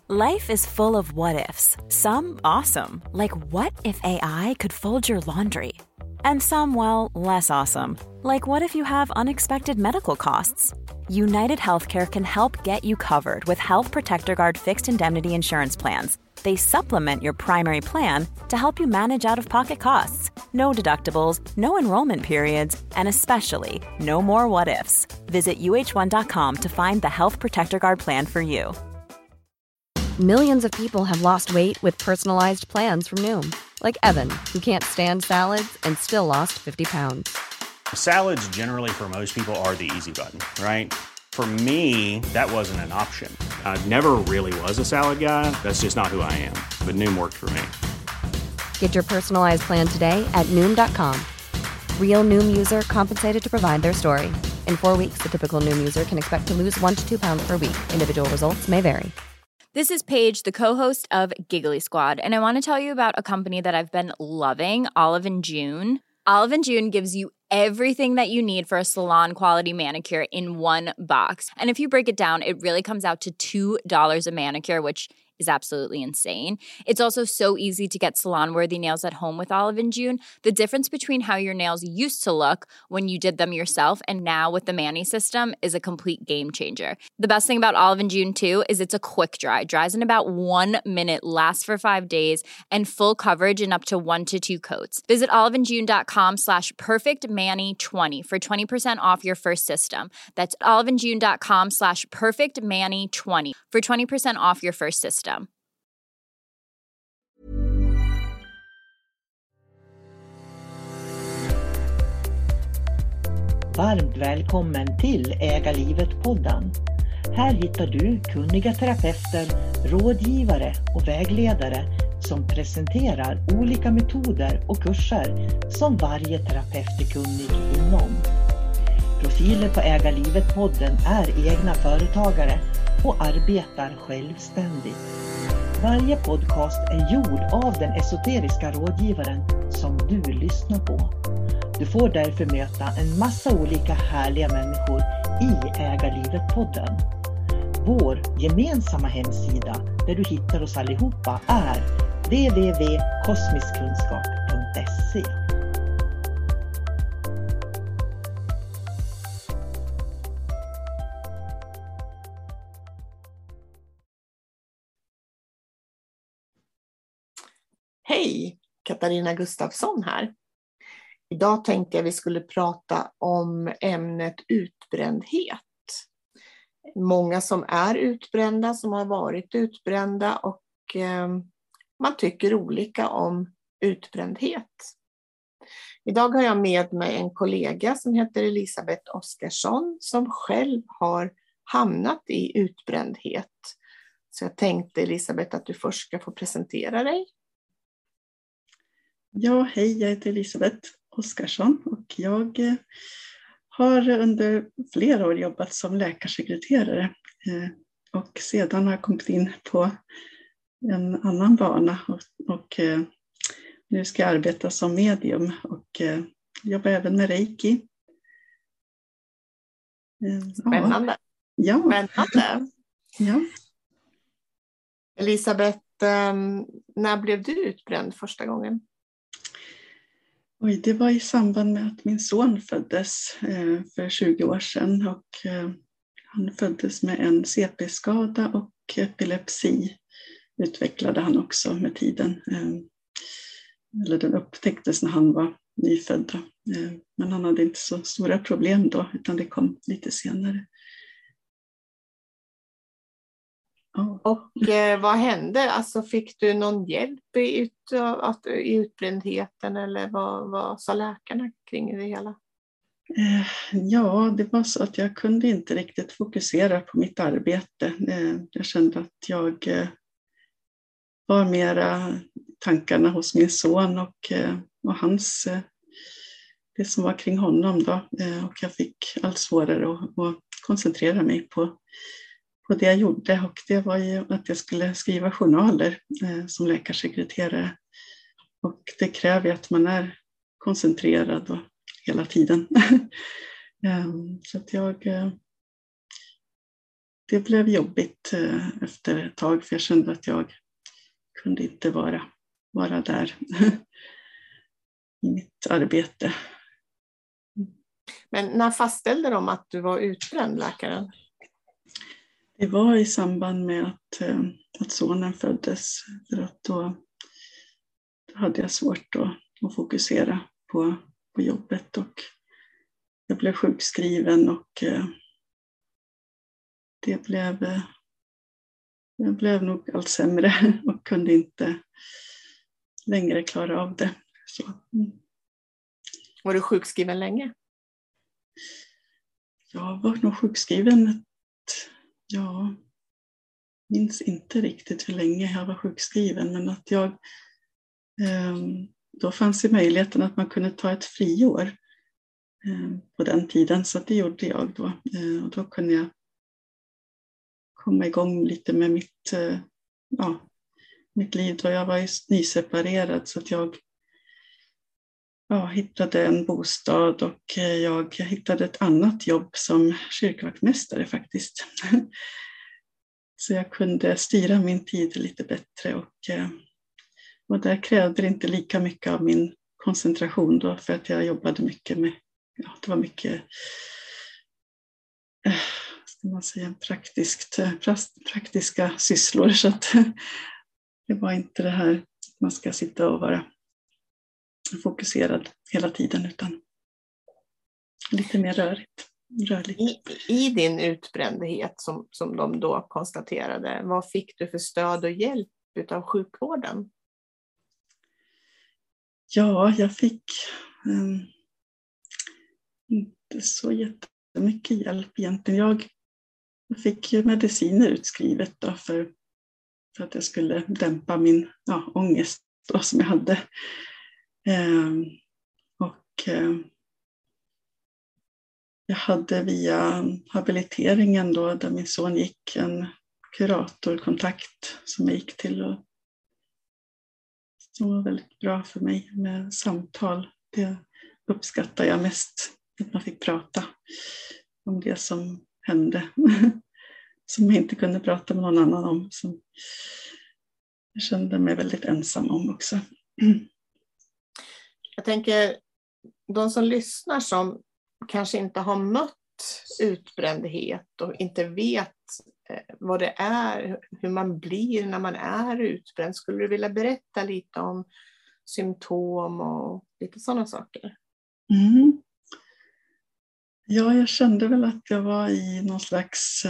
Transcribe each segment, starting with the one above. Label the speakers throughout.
Speaker 1: Life is full of what-ifs. Some awesome, like what if AI could fold your laundry? And some, well, less awesome, like what if you have unexpected medical costs? United Healthcare can help get you covered with Health Protector Guard fixed indemnity insurance plans. They supplement your primary plan to help you manage out-of-pocket costs. No deductibles, no enrollment periods, and especially no more what-ifs. Visit uh1.com to find the Health Protector Guard plan for you.
Speaker 2: Millions of people have lost weight with personalized plans from Noom. Like Evan, who can't stand salads and still lost 50 pounds.
Speaker 3: Salads generally for most people are the easy button, right? For me, that wasn't an option. I never really was a salad guy. That's just not who I am. But Noom worked for me.
Speaker 2: Get your personalized plan today at Noom.com. Real Noom user compensated to provide their story. In 4 weeks, the typical Noom user can expect to lose 1 to 2 pounds per week. Individual results may vary.
Speaker 4: This is Paige, the co-host of Giggly Squad, and I want to tell you about a company that I've been loving, Olive & June. Olive & June gives you everything that you need for a salon-quality manicure in one box. And if you break it down, it really comes out to $2 a manicure, which is absolutely insane. It's also so easy to get salon-worthy nails at home with Olive & June. The difference between how your nails used to look when you did them yourself and now with the Mani system is a complete game changer. The best thing about Olive & June, too, is it's a quick dry. Dries in about 1 minute, lasts for 5 days, and full coverage in up to 1 to 2 coats. Visit oliveandjune.com/perfectmani20 for 20% off your first system. That's oliveandjune.com/perfectmani20 for 20% off your first system.
Speaker 5: Varmt välkommen till Äga livet-podden. Här hittar du kunniga terapeuter, rådgivare och vägledare som presenterar olika metoder och kurser som varje terapeut är kunnig inom. Profiler på Äga livet-podden är egna företagare och arbetar självständigt. Varje podcast är gjord av den esoteriska rådgivaren som du lyssnar på. Du får därför möta en massa olika härliga människor i Äga livet-podden. Vår gemensamma hemsida där du hittar oss allihopa är www.kosmiskkunskap.se.
Speaker 6: Hej, Katarina Gustafsson här. Idag tänkte jag vi skulle prata om ämnet utbrändhet. Många som är utbrända, som har varit utbrända och man tycker olika om utbrändhet. Idag har jag med mig en kollega som heter Elisabeth Oskarsson som själv har hamnat i utbrändhet. Så jag tänkte Elisabeth att du först ska få presentera dig.
Speaker 7: Ja, hej, jag heter Elisabeth Oskarsson och jag har under flera år jobbat som läkarsekreterare och sedan har jag kommit in på en annan bana och nu ska jag arbeta som medium och jobba även med reiki.
Speaker 6: Spännande.
Speaker 7: Ja.
Speaker 6: Spännande.
Speaker 7: Ja.
Speaker 6: Elisabeth, när blev du utbränd första gången?
Speaker 7: Oj, det var i samband med att min son föddes för 20 år sedan och han föddes med en CP-skada och epilepsi utvecklade han också med tiden. Eller den upptäcktes när han var nyfödd. Men han hade inte så stora problem då utan det kom lite senare.
Speaker 6: Och vad hände? Alltså fick du någon hjälp i utbrändheten eller vad sa läkarna kring det hela?
Speaker 7: Ja, det var så att jag kunde inte riktigt fokusera på mitt arbete. Jag kände att jag var mera tankarna hos min son och hans, det som var kring honom då. Och jag fick allt svårare att koncentrera mig på det jag gjorde och det var ju att jag skulle skriva journaler som läkarsekreterare och det kräver att man är koncentrerad och hela tiden. Så att det blev jobbigt efter ett tag, för jag kände att jag kunde inte vara där i mitt arbete.
Speaker 6: Men när fastställde de att du var utbränd, läkaren?
Speaker 7: Det var i samband med att sonen föddes. För att då hade jag svårt att fokusera på jobbet. Och jag blev sjukskriven och jag blev nog allt sämre och kunde inte längre klara av det. Så.
Speaker 6: Var du sjukskriven länge?
Speaker 7: Jag var nog sjukskriven. Jag minns inte riktigt hur länge jag var sjukskriven, men att då fanns det möjligheten att man kunde ta ett friår på den tiden, så det gjorde jag då. Och då kunde jag komma igång lite med mitt liv då. Jag var ju nyseparerad, så att jag hittade en bostad och jag hittade ett annat jobb som kyrkvaktmästare faktiskt. Så jag kunde styra min tid lite bättre och där krävde det inte lika mycket av min koncentration då, för att jag jobbade mycket med, det var mycket ska man säga, praktiska sysslor, så att det var inte det här att man ska sitta och vara fokuserad hela tiden, utan lite mer rörligt.
Speaker 6: I din utbrändhet som de då konstaterade, vad fick du för stöd och hjälp av sjukvården?
Speaker 7: Ja, jag fick inte så jättemycket hjälp egentligen. Jag fick mediciner utskrivet då för att jag skulle dämpa min ångest då, som jag hade. Jag hade via habiliteringen då, där min son gick, en kuratorkontakt som jag gick till, och som var väldigt bra för mig med samtal. Det uppskattar jag mest, att man fick prata om det som hände som jag inte kunde prata med någon annan om, som jag kände mig väldigt ensam om också.
Speaker 6: Jag tänker, de som lyssnar som kanske inte har mött utbrändhet och inte vet vad det är, hur man blir när man är utbränd. Skulle du vilja berätta lite om symptom och lite sådana saker?
Speaker 7: Mm. Ja, jag kände väl att jag var i någon slags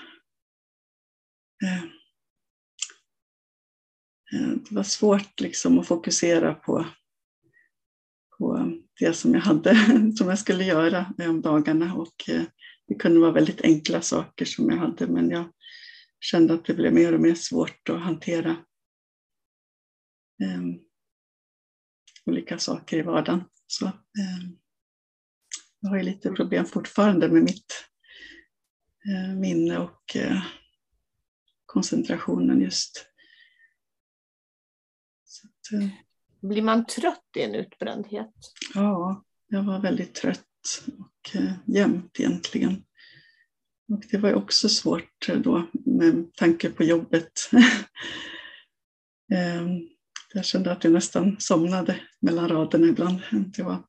Speaker 7: det var svårt liksom att fokusera på det som jag hade, som jag skulle göra om dagarna, och det kunde vara väldigt enkla saker som jag hade, men jag kände att det blev mer och mer svårt att hantera olika saker i vardagen. Så jag har ju lite problem fortfarande med mitt minne och koncentrationen just. Så att,
Speaker 6: blir man trött i en utbrändhet?
Speaker 7: Ja, jag var väldigt trött och jämt egentligen. Och det var ju också svårt då med tanke på jobbet. Jag kände att jag nästan somnade mellan raderna ibland. Det var...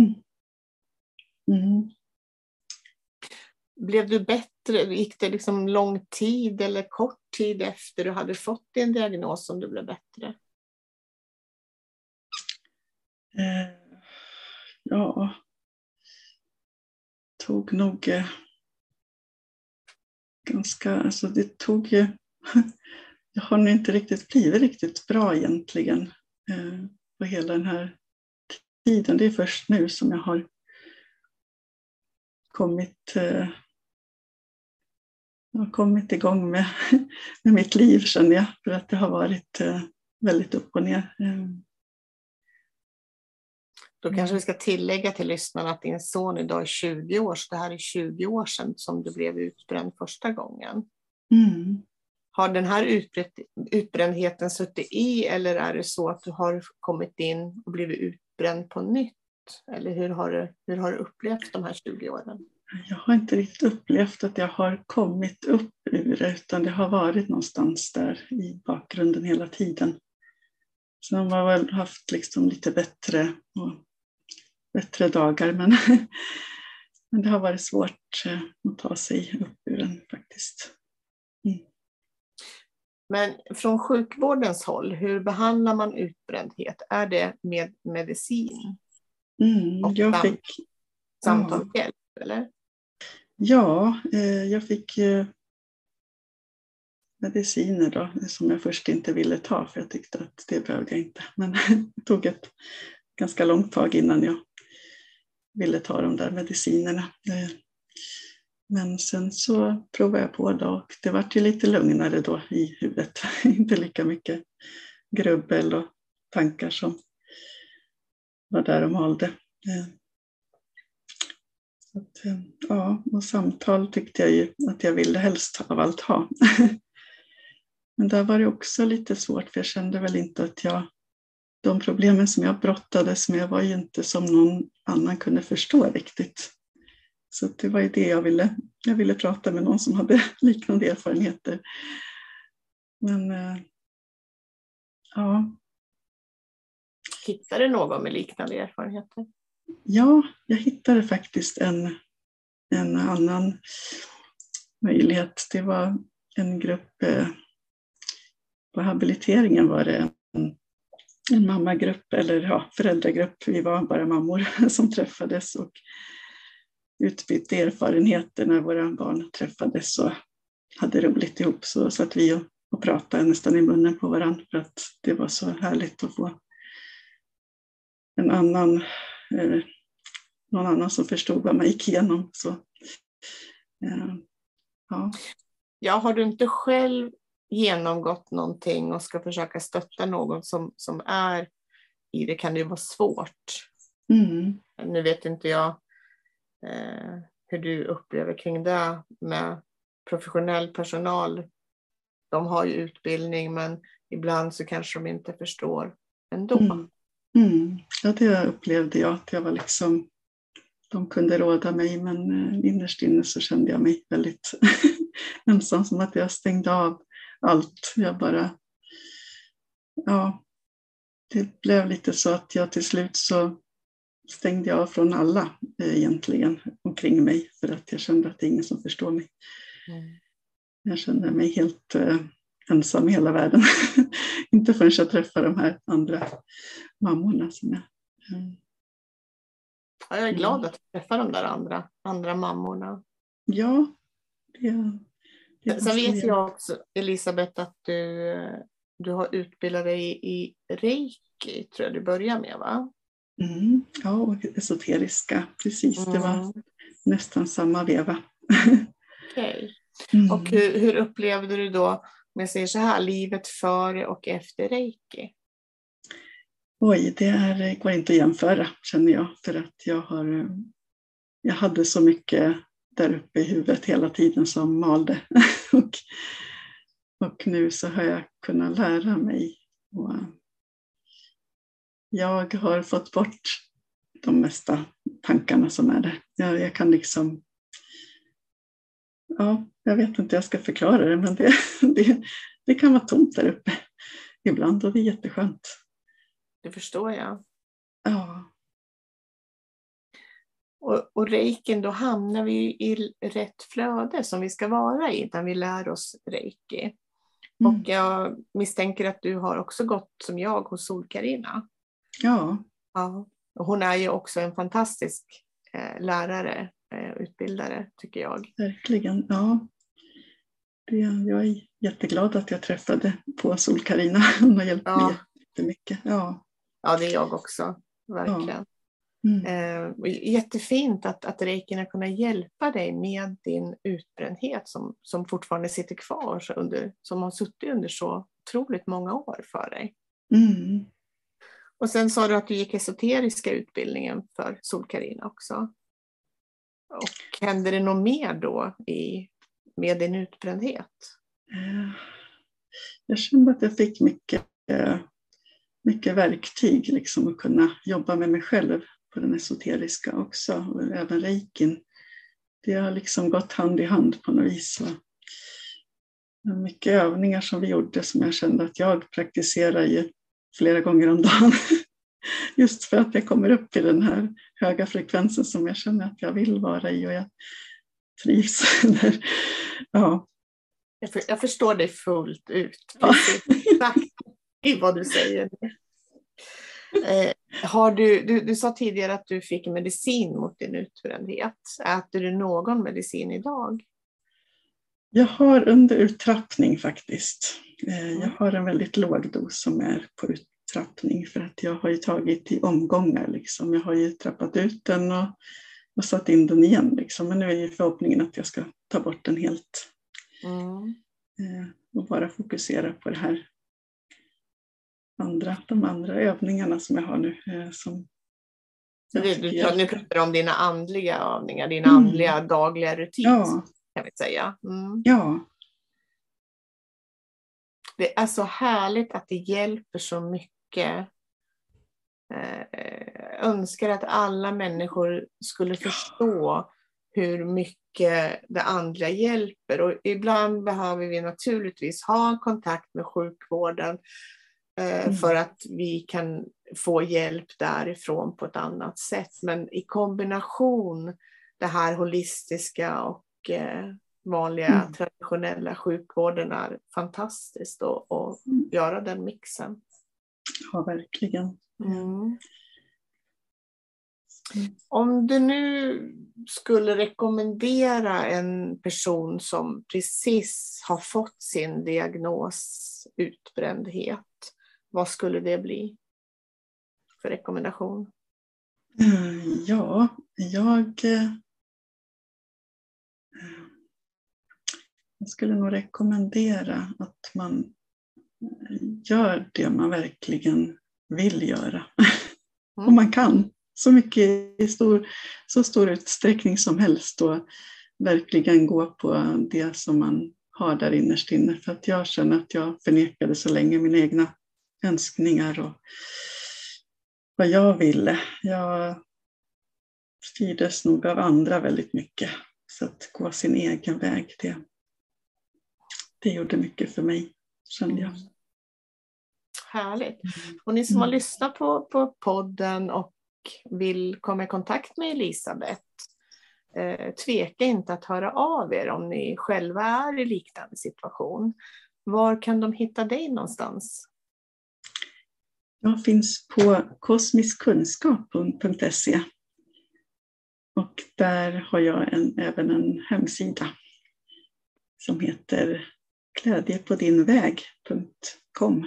Speaker 6: Blev du bättre? Gick det liksom lång tid eller kort tid efter du hade fått din diagnos som du blev bättre?
Speaker 7: Ja, tog nog ganska, alltså det tog ju, jag har nog inte riktigt blivit riktigt bra egentligen på hela den här tiden. Det är först nu som jag har kommit igång med mitt liv, känner jag, för att det har varit väldigt upp och ner.
Speaker 6: Då kanske vi ska tillägga till lyssnarna att din son idag är 20 år, så det här är 20 år sedan som du blev utbränd första gången. Har den här utbrändheten suttit i, eller är det så att du har kommit in och blivit utbränd på nytt? Eller hur har du upplevt de här 20 åren?
Speaker 7: Jag har inte riktigt upplevt att jag har kommit upp ur det, utan det har varit någonstans där i bakgrunden hela tiden. Så man har väl haft liksom lite bättre dagar, men det har varit svårt att ta sig upp ur den faktiskt. Mm.
Speaker 6: Men från sjukvårdens håll, hur behandlar man utbrändhet? Är det med medicin? Och
Speaker 7: Jag fick
Speaker 6: samtalshjälp, eller?
Speaker 7: Ja, jag fick mediciner då, som jag först inte ville ta, för jag tyckte att det behövde jag inte. Men det tog ett ganska långt tag innan jag ville ta de där medicinerna. Men sen så provade jag på då, och det var ju lite lugnare då i huvudet. Inte lika mycket grubbel och tankar som var där och malde. Ja, och samtal tyckte jag ju att jag ville helst av allt ha. Men där var det också lite svårt, för jag kände väl inte att de problemen som jag brottades med var ju inte som någon annan kunde förstå riktigt. Så det var ju det jag ville prata med någon som hade liknande erfarenheter. Men ja.
Speaker 6: Hittade du någon med liknande erfarenheter?
Speaker 7: Ja, jag hittade faktiskt en annan möjlighet. Det var en grupp, på habiliteringen var det en mammagrupp, eller föräldragrupp. Vi var bara mammor som träffades och utbytte erfarenheter när våra barn träffades och hade roligt ihop. Så satt vi och pratade nästan i munnen på varandra, för att det var så härligt att få någon annan som förstod vad man gick igenom. Så, ja.
Speaker 6: Ja, har du inte själv genomgått någonting och ska försöka stötta någon som är i det, kan det ju vara svårt. Nu vet inte jag hur du upplever kring det med professionell personal. De har ju utbildning, men ibland så kanske de inte förstår ändå.
Speaker 7: Ja, det upplevde jag, att jag var liksom, de kunde råda mig, men innerst inne så kände jag mig väldigt ensam, som att jag stängde av allt. Jag bara, ja, det blev lite så att jag till slut så stängde jag av från alla egentligen omkring mig, för att jag kände att det är ingen som förstår mig. Jag kände mig helt ensam i hela världen. Inte förrän jag träffade de här andra mammorna som jag...
Speaker 6: Ja, jag är glad att träffa de där andra mammorna.
Speaker 7: Ja.
Speaker 6: Sen vet jag också, Elisabeth, att du har utbildat dig i reiki, tror jag du börjar med, va?
Speaker 7: Ja, och esoteriska, precis. Det var nästan samma veva.
Speaker 6: Okej. Och hur upplevde du då, om jag säger så här, livet före och efter reiki?
Speaker 7: Oj, det går inte att jämföra, känner jag. För att jag hade så mycket där uppe i huvudet hela tiden som malde. och nu så har jag kunnat lära mig. Och jag har fått bort de mesta tankarna som är där. Jag kan liksom... Ja, jag vet inte hur jag ska förklara det, men det kan vara tomt där uppe ibland, och det är jätteskönt.
Speaker 6: Det förstår jag.
Speaker 7: Ja.
Speaker 6: Och reikin, då hamnar vi i rätt flöde som vi ska vara i när vi lär oss reiki. Och jag misstänker att du har också gått som jag hos Sol-Carina.
Speaker 7: Ja.
Speaker 6: Och hon är ju också en fantastisk lärare, utbildare, tycker jag.
Speaker 7: Verkligen, ja. Jag är jätteglad att jag träffade på Sol-Carina. Hon har hjälpt mig jättemycket. Ja,
Speaker 6: det är jag också, verkligen. Jättefint att reikin har kunnat hjälpa dig med din utbrändhet som fortfarande sitter kvar, som har suttit under så otroligt många år för dig. Och sen sa du att du gick esoteriska utbildningen för Sol-Carina också. Och hände det något mer då med din utbrändhet? Jag
Speaker 7: kände att jag fick mycket verktyg liksom, att kunna jobba med mig själv på den esoteriska också. Och även reikin Det har liksom gått hand i hand på något vis. Mycket övningar som vi gjorde som jag kände att jag praktiserar ju flera gånger om dagen. Just för att jag kommer upp i den här höga frekvensen som jag känner att jag vill vara i och jag trivs där. Ja.
Speaker 6: Jag förstår dig fullt ut. Exakt i vad du säger. Du sa tidigare att du fick medicin mot din utbrändhet. Äter du någon medicin idag?
Speaker 7: Jag har under uttrappning faktiskt. Jag har en väldigt låg dos som är på uttrappning för att jag har ju tagit i omgångar. Liksom. Jag har ju trappat ut den och satt in den igen. Liksom. Men nu är ju förhoppningen att jag ska ta bort den helt. Och bara fokusera på det här de andra övningarna som jag har nu.
Speaker 6: Nu pratar du om dina andliga övningar, dina andliga dagliga rutiner, kan vi säga.
Speaker 7: Ja.
Speaker 6: Det är så härligt att det hjälper så mycket. Önskar att alla människor skulle förstå hur mycket det andliga hjälper. Och ibland behöver vi naturligtvis ha kontakt med sjukvården för att vi kan få hjälp därifrån på ett annat sätt. Men i kombination det här holistiska och vanliga traditionella sjukvården är fantastiskt att göra den mixen.
Speaker 7: Ja, verkligen.
Speaker 6: Om du nu skulle rekommendera en person som precis har fått sin diagnos utbrändhet, vad skulle det bli för rekommendation?
Speaker 7: Ja, jag skulle nog rekommendera att man gör det man verkligen vill göra. Om man kan. Så mycket i så stor utsträckning som helst och verkligen gå på det som man har där innerst inne. För att jag känner att jag förnekade så länge mina egna önskningar och vad jag ville. Jag styrdes nog av andra väldigt mycket. Så att gå sin egen väg, det gjorde mycket för mig, kände jag.
Speaker 6: Härligt. Och ni som har lyssnat på podden och vill komma i kontakt med Elisabeth, tveka inte att höra av er om ni själva är i liknande situation. Var kan de hitta dig någonstans?
Speaker 7: Jag finns på kosmiskkunskap.se och där har jag även en hemsida som heter glädjepodinväg.com.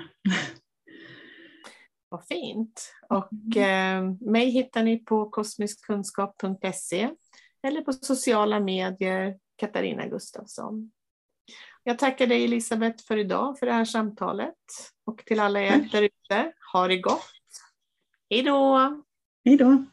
Speaker 6: Vad fint. Och mig hittar ni på kosmiskkunskap.se eller på sociala medier, Katarina Gustafsson. Jag tackar dig Elisabeth för idag, för det här samtalet. Och till alla er där ute, ha det gott. Hej då!
Speaker 7: Hej då!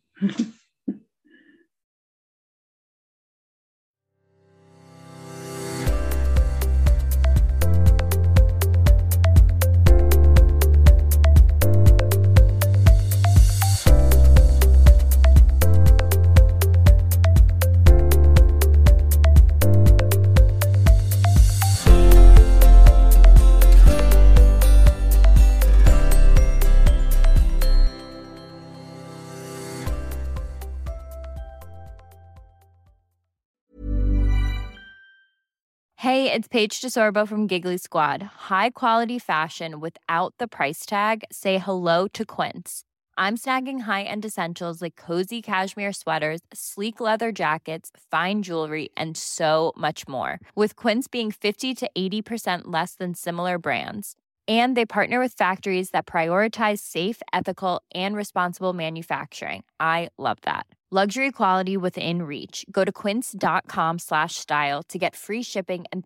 Speaker 4: Hey, it's Paige DeSorbo from Giggly Squad. High quality fashion without the price tag. Say hello to Quince. I'm snagging high-end essentials like cozy cashmere sweaters, sleek leather jackets, fine jewelry, and so much more. With Quince being 50 to 80% less than similar brands. And they partner with factories that prioritize safe, ethical, and responsible manufacturing. I love that. Luxury quality within reach. Go to quince.com/style to get free shipping and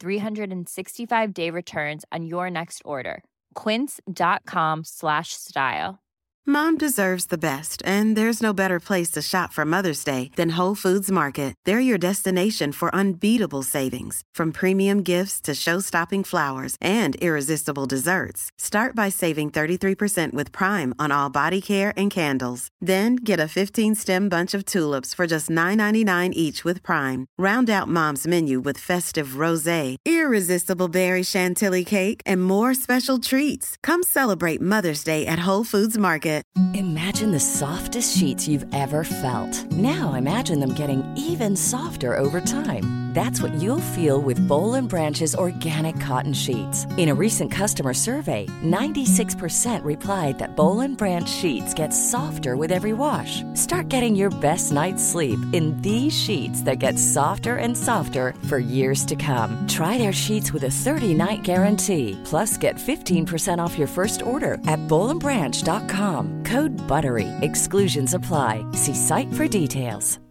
Speaker 4: 365-day returns on your next order. Quince.com/style.
Speaker 8: Mom deserves the best, and there's no better place to shop for Mother's Day than Whole Foods Market. They're your destination for unbeatable savings, from premium gifts to show-stopping flowers and irresistible desserts. Start by saving 33% with Prime on all body care and candles. Then get a 15-stem bunch of tulips for just $9.99 each with Prime. Round out Mom's menu with festive rosé, irresistible berry chantilly cake, and more special treats. Come celebrate Mother's Day at Whole Foods Market.
Speaker 9: Imagine the softest sheets you've ever felt. Now imagine them getting even softer over time. That's what you'll feel with Boll & Branch's organic cotton sheets. In a recent customer survey, 96% replied that Boll & Branch sheets get softer with every wash. Start getting your best night's sleep in these sheets that get softer and softer for years to come. Try their sheets with a 30-night guarantee. Plus, get 15% off your first order at bollandbranch.com. Code BUTTERY. Exclusions apply. See site for details.